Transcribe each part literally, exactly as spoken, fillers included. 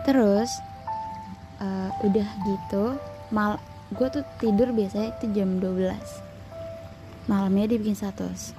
Terus uh, udah gitu mal gue tuh tidur biasanya itu jam dua belas malamnya. Dia bikin status,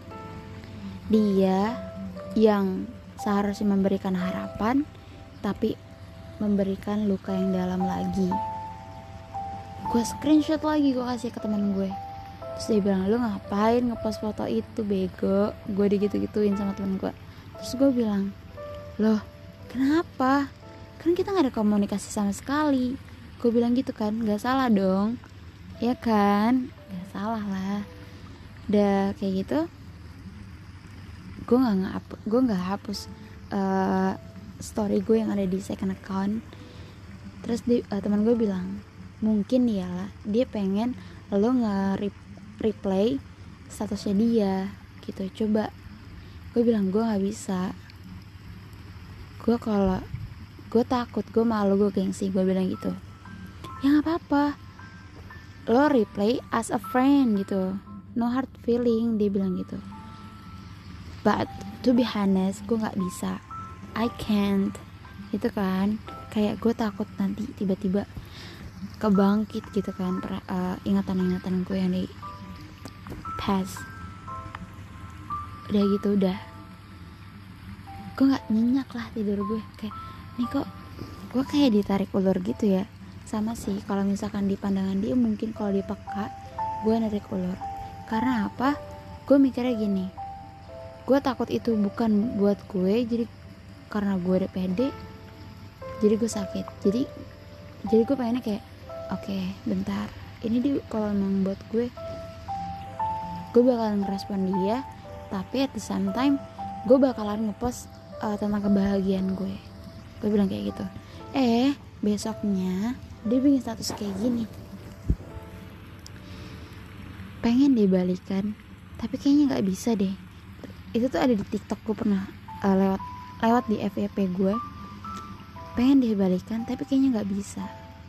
dia yang seharusnya memberikan harapan tapi memberikan luka yang dalam lagi. Gue screenshot lagi, gue kasih ke teman gue. Terus dia bilang, lu ngapain ngepost foto itu bego? Gue digitu-gituin sama temen gue. Terus gue bilang, loh kenapa? Kan kita gak ada komunikasi sama sekali. Gue bilang gitu kan, gak salah dong, ya kan? Gak salah lah. Udah kayak gitu, gue gak, ngehapus, gue gak hapus uh, story gue yang ada di second account. Terus di, uh, teman gue bilang, mungkin ya lah dia pengen lo nge-replay statusnya dia gitu. Coba. Gue bilang gue gak bisa. Gue kalau gue takut, gue malu, gue gengsi. Gue bilang gitu. Ya gak apa-apa, lo replay as a friend gitu, no hard feeling. Dia bilang gitu. But to be honest, gue gak bisa, I can't gitu kan. Kayak gue takut nanti tiba-tiba kebangkit gitu kan uh, ingatan-ingatan gue yang di past. Udah gitu, udah gue gak nyenyak lah tidur gue. Kayak nih kok gue kayak ditarik ulur gitu ya. Sama sih kalau misalkan di pandangan dia, mungkin kalau dia peka, gue narik ulur. Karena apa? Gue mikirnya gini, gue takut itu bukan buat gue, jadi karena gue udah pede, jadi gue sakit. Jadi jadi gue pengennya kayak, oke okay, bentar, ini dia kalau emang buat gue, gue bakalan ngerespon dia, tapi at the same time gue bakalan ngepost uh, tentang kebahagiaan gue. Gue bilang kayak gitu. Eh besoknya dia bikin status kayak gini, pengen dia balikan tapi kayaknya nggak bisa deh. Itu tuh ada di TikTok, gue pernah uh, lewat lewat di F Y P gue. Pengen dia balikan tapi kayaknya nggak bisa,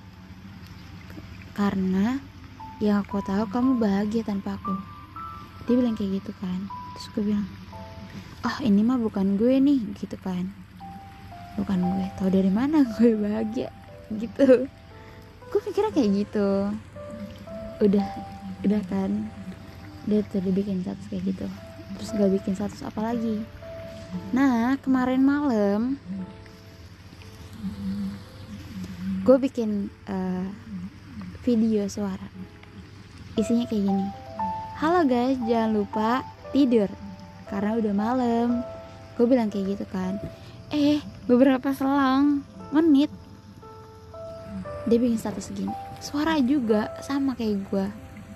karena yang aku tahu kamu bahagia tanpa aku. Dia bilang kayak gitu kan. Terus gue bilang, oh ini mah bukan gue nih gitu kan, bukan gue. Tahu dari mana gue bahagia gitu. Gue pikirnya kayak gitu. Udah udah kan, dia tuh dibikin status kayak gitu. Terus gak bikin status apa lagi. Nah kemarin malam gue bikin uh, video suara, isinya kayak gini, halo guys, jangan lupa tidur karena udah malam. Gue bilang kayak gitu kan. Eh beberapa selang menit dia bikin status gini, suara juga sama kayak gue.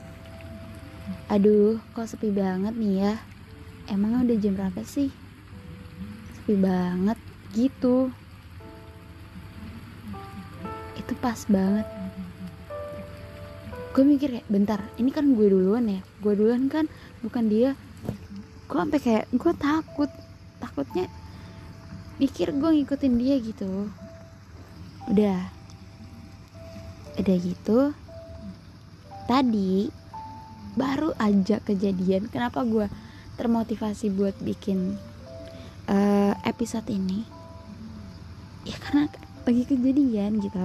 Aduh kok sepi banget nih ya, emang udah jam berapa sih? Sepi banget gitu. Itu pas banget. Gue mikir kayak, bentar, ini kan gue duluan ya, gue duluan kan, bukan dia. Gue sampai kayak gue takut, takutnya mikir gue ngikutin dia gitu. Udah, udah gitu. Tadi baru aja kejadian. Kenapa gue termotivasi buat bikin uh, episode ini? Ya karena lagi kejadian gitu.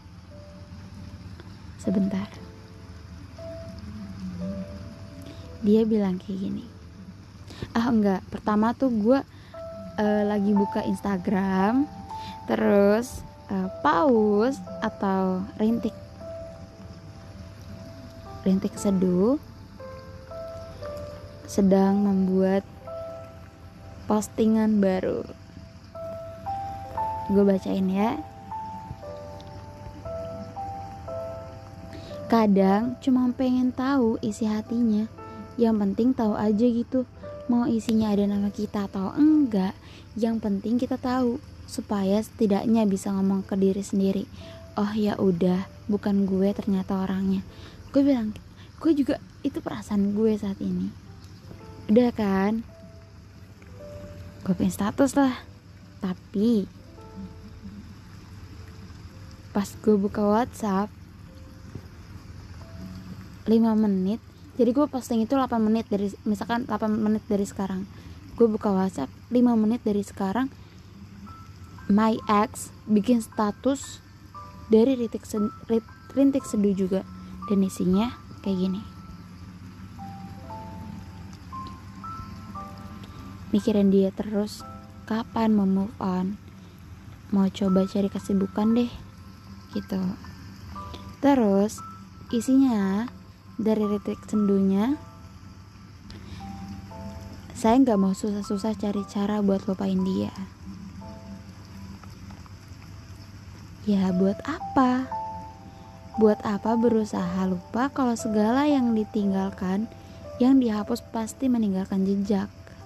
Sebentar. Dia bilang kayak gini. Ah enggak, pertama tuh gue uh, lagi buka Instagram, terus uh, paus atau rintik rintik seduh sedang membuat postingan baru. Gue bacain ya. Kadang cuma pengen tahu isi hatinya, yang penting tahu aja gitu. Mau isinya ada nama kita atau enggak, yang penting kita tahu, supaya setidaknya bisa ngomong ke diri sendiri, oh ya udah, bukan gue ternyata orangnya. Gue bilang, gue juga, itu perasaan gue saat ini. Udah kan, gue pengen status lah. Tapi pas gue buka WhatsApp lima menit, jadi gue posting itu delapan menit dari, misalkan delapan menit dari sekarang, gue buka WhatsApp lima menit dari sekarang, my ex bikin status dari rintik, sen- rintik seduh juga, dan isinya kayak gini. Mikirin dia terus, kapan mau move on, mau coba cari kesibukan deh gitu. Terus isinya dari rintik sendunya, saya gak mau susah-susah cari cara buat lupain dia. Ya buat apa? Buat apa berusaha lupa kalau segala yang ditinggalkan, yang dihapus pasti meninggalkan jejak.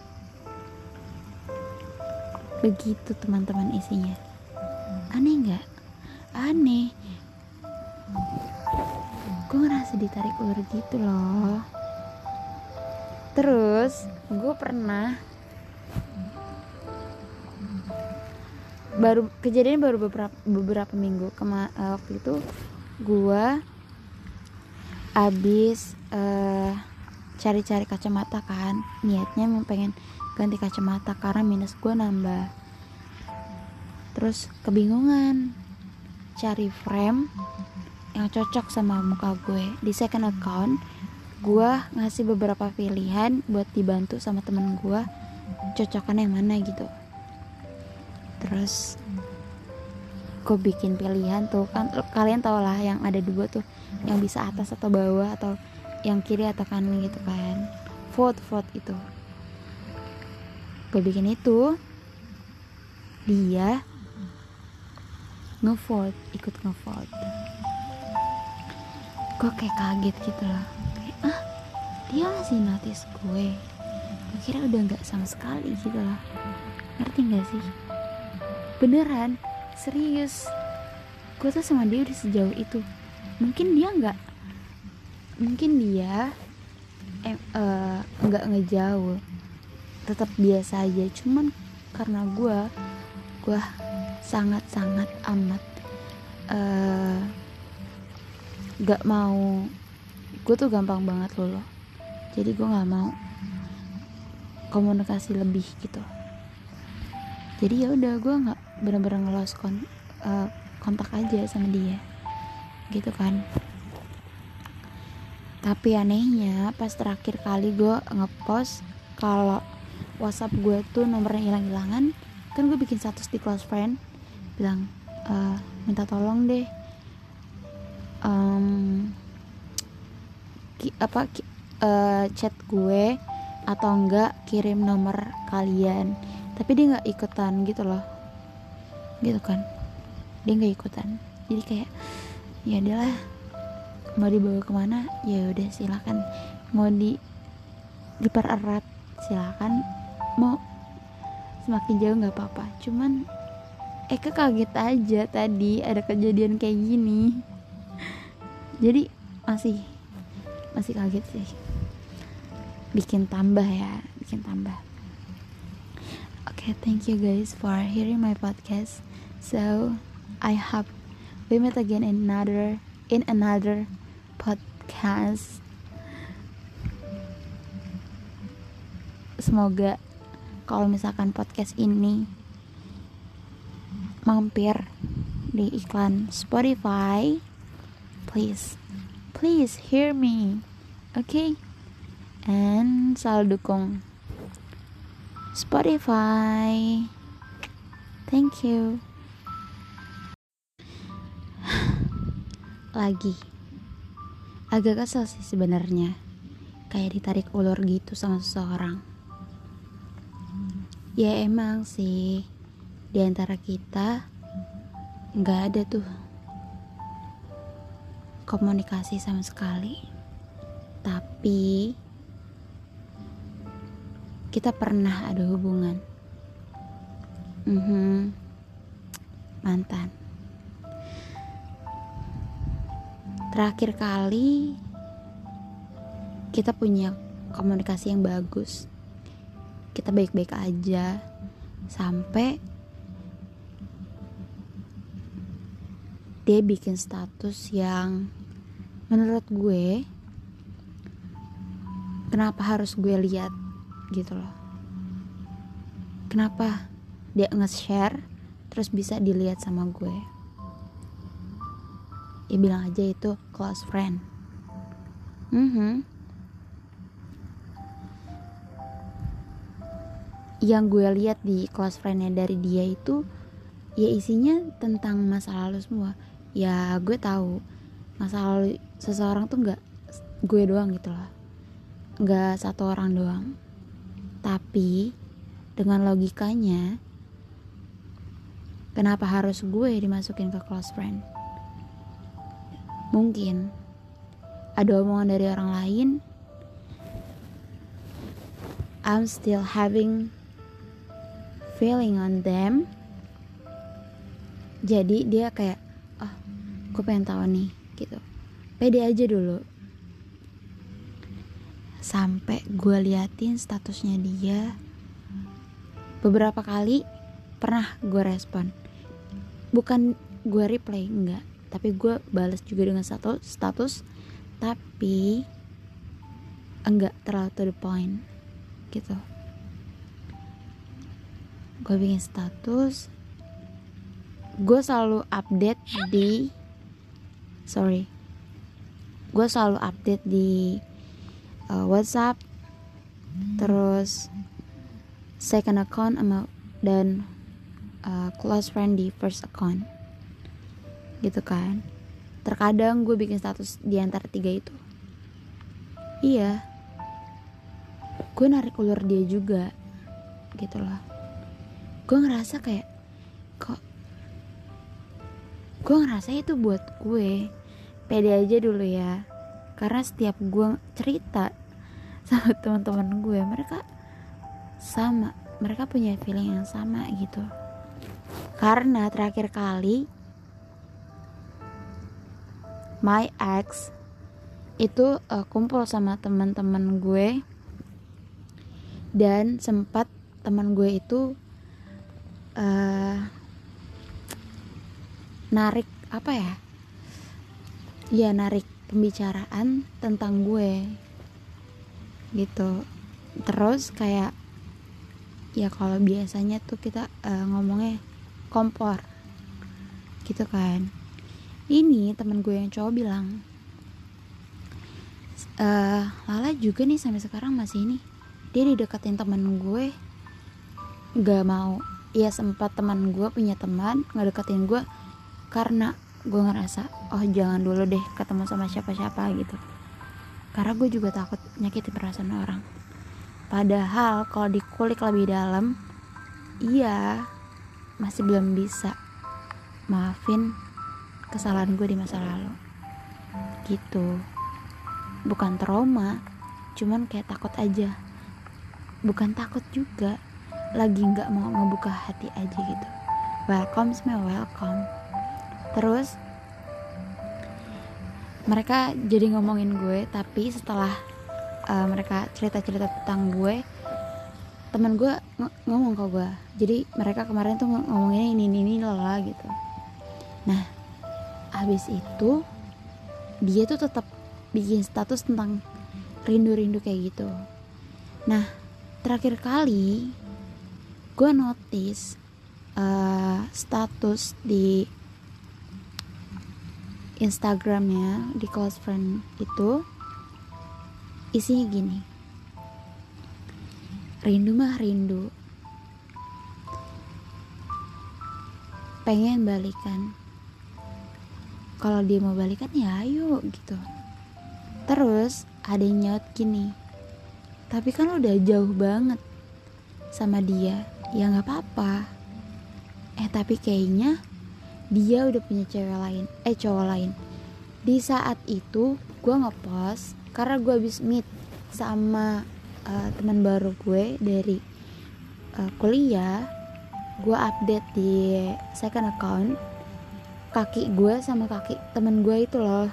Begitu teman-teman isinya. Aneh gak? Aneh. Gue ngerasa ditarik ulur gitu loh. Terus gue pernah, baru kejadian baru beberapa beberapa minggu kema, uh, waktu itu gue abis uh, cari-cari kacamata kan, niatnya mau pengen ganti kacamata karena minus gue nambah. Terus kebingungan cari frame yang cocok sama muka gue. Di second account gue ngasih beberapa pilihan buat dibantu sama temen gue cocokan yang mana gitu. Terus gue bikin pilihan tuh kan, kalian tau lah yang ada dua tuh, yang bisa atas atau bawah atau yang kiri atau kanan gitu kan, vote vote itu. Gue bikin itu, dia ngevote, ikut ngevote. Gue kayak kaget gitu loh, kayak ah dia masih notice gue. Gue kira udah nggak sama sekali gitu loh, ngerti nggak sih? Beneran, serius. Gue tuh sama dia udah sejauh itu. Mungkin dia nggak, mungkin dia eh, uh, nggak ngejauh, tetap biasa aja. Cuman karena gue, gue sangat-sangat amat uh, gak mau, gue tuh gampang banget luluh. Jadi gue gak mau komunikasi lebih gitu. Jadi ya udah, gue nggak bener-bener ngelos kon, uh, kontak aja sama dia gitu kan. Tapi anehnya pas terakhir kali gue ngepost kalau WhatsApp gue tuh nomornya hilang-hilangan, kan gue bikin status di close friend bilang e, minta tolong deh um, ki, apa ki, uh, chat gue atau enggak kirim nomor kalian. Tapi dia nggak ikutan gitu loh, gitu kan, dia nggak ikutan. Jadi kayak ya adalah, mau dibawa kemana ya udah silakan, mau di dipererat silakan, mau semakin jauh nggak apa-apa. Cuman Eka kaget aja tadi ada kejadian kayak gini, jadi masih masih kaget sih, bikin tambah ya, bikin tambah. Okay, thank you guys for hearing my podcast. So I hope we meet again in another in another podcast. Semoga kalau misalkan podcast ini mampir di iklan Spotify, please please hear me, okay? And selalu dukung Spotify. Thank you. Lagi agak kesel sih sebenarnya, kayak ditarik ulur gitu sama seseorang. Ya emang sih, di antara kita nggak ada tuh komunikasi sama sekali, tapi kita pernah ada hubungan. Mm-hmm. Mantan. Terakhir kali kita punya komunikasi yang bagus, kita baik-baik aja sampai dia bikin status yang menurut gue kenapa harus gue lihat gitu loh. Kenapa dia nge-share terus bisa dilihat sama gue. Ya bilang aja itu close friend. Mhm. Yang gue lihat di close friendnya dari dia itu ya isinya tentang masa lalu semua. Ya gue tahu masa lalu seseorang tuh nggak gue doang gitu loh, nggak satu orang doang. Tapi dengan logikanya, kenapa harus gue dimasukin ke close friend? Mungkin ada omongan dari orang lain, I'm still having feeling on them. Jadi dia kayak, oh gue pengen tahu nih gitu, pede aja dulu. Sampai gue liatin statusnya dia beberapa kali, pernah gue respon, bukan gue reply, enggak, tapi gue balas juga dengan status status tapi enggak terlalu to the point gitu. Gue bikin status, gue selalu update di sorry gue selalu update di uh, WhatsApp, terus second account sama dan uh, close friend di first account gitu kan. Terkadang gue bikin status di antara tiga itu. Iya, gue narik ulur dia juga gitu loh. Gue ngerasa kayak, kok gue ngerasa itu buat gue. Pede aja dulu ya, karena setiap gue cerita sama teman-teman gue, mereka sama, mereka punya feeling yang sama gitu. Karena terakhir kali my ex itu uh, kumpul sama teman-teman gue, dan sempat teman gue itu uh, narik apa ya ya narik pembicaraan tentang gue gitu. Terus kayak ya kalau biasanya tuh kita uh, ngomongnya kompor gitu kan. Ini temen gue yang cowok bilang, e, Lala juga nih sampai sekarang masih ini, dia dideketin temen gue, gak mau. Ya sempat teman gue punya teman ngedeketin gue karena gue ngerasa, oh jangan dulu deh ketemu sama siapa-siapa gitu, karena gue juga takut nyakitin perasaan orang. Padahal kalau dikulik lebih dalam, iya masih belum bisa maafin kesalahan gue di masa lalu gitu. Bukan trauma, cuman kayak takut aja. Bukan takut juga, lagi gak mau ngebuka hati aja gitu. Welcome semua, welcome. Terus mereka jadi ngomongin gue, tapi setelah uh, mereka cerita-cerita tentang gue, teman gue ng- ngomong ke gue, jadi mereka kemarin tuh ng- ngomongin ini ini ini lah gitu. Nah habis itu dia tuh tetap bikin status tentang rindu-rindu kayak gitu. Nah terakhir kali gue notice uh, status di Instagramnya di close friend itu isinya gini, rindu mah rindu, pengen balikan, kalau dia mau balikan ya ayo gitu. Terus ada yang nyaut gini, tapi kan udah jauh banget sama dia, ya gak apa-apa. Eh tapi kayaknya dia udah punya cewek lain, eh cowok lain. Di saat itu gue ngepost karena gue habis meet sama uh, teman baru gue dari uh, kuliah. Gue update di second account kaki gue sama kaki temen gue itu loh.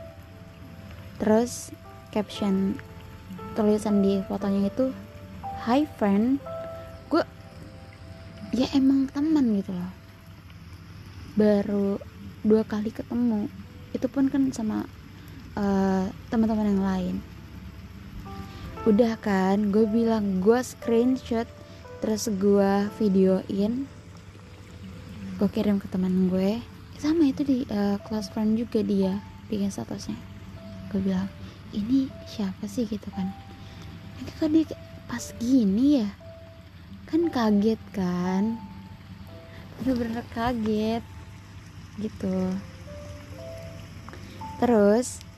Terus caption tulisan di fotonya itu, hi friend. Gue ya emang teman gitu loh, baru dua kali ketemu, itu pun kan sama uh, teman-teman yang lain. Udah kan gue bilang, gue screenshot, terus gue videoin, gue gue kirim ke teman gue, sama itu di uh, close friend juga dia bikin statusnya. Gue bilang ini siapa sih gitu kan, ini kok dia pas gini ya, kan kaget kan, bener-bener kaget gitu. Terus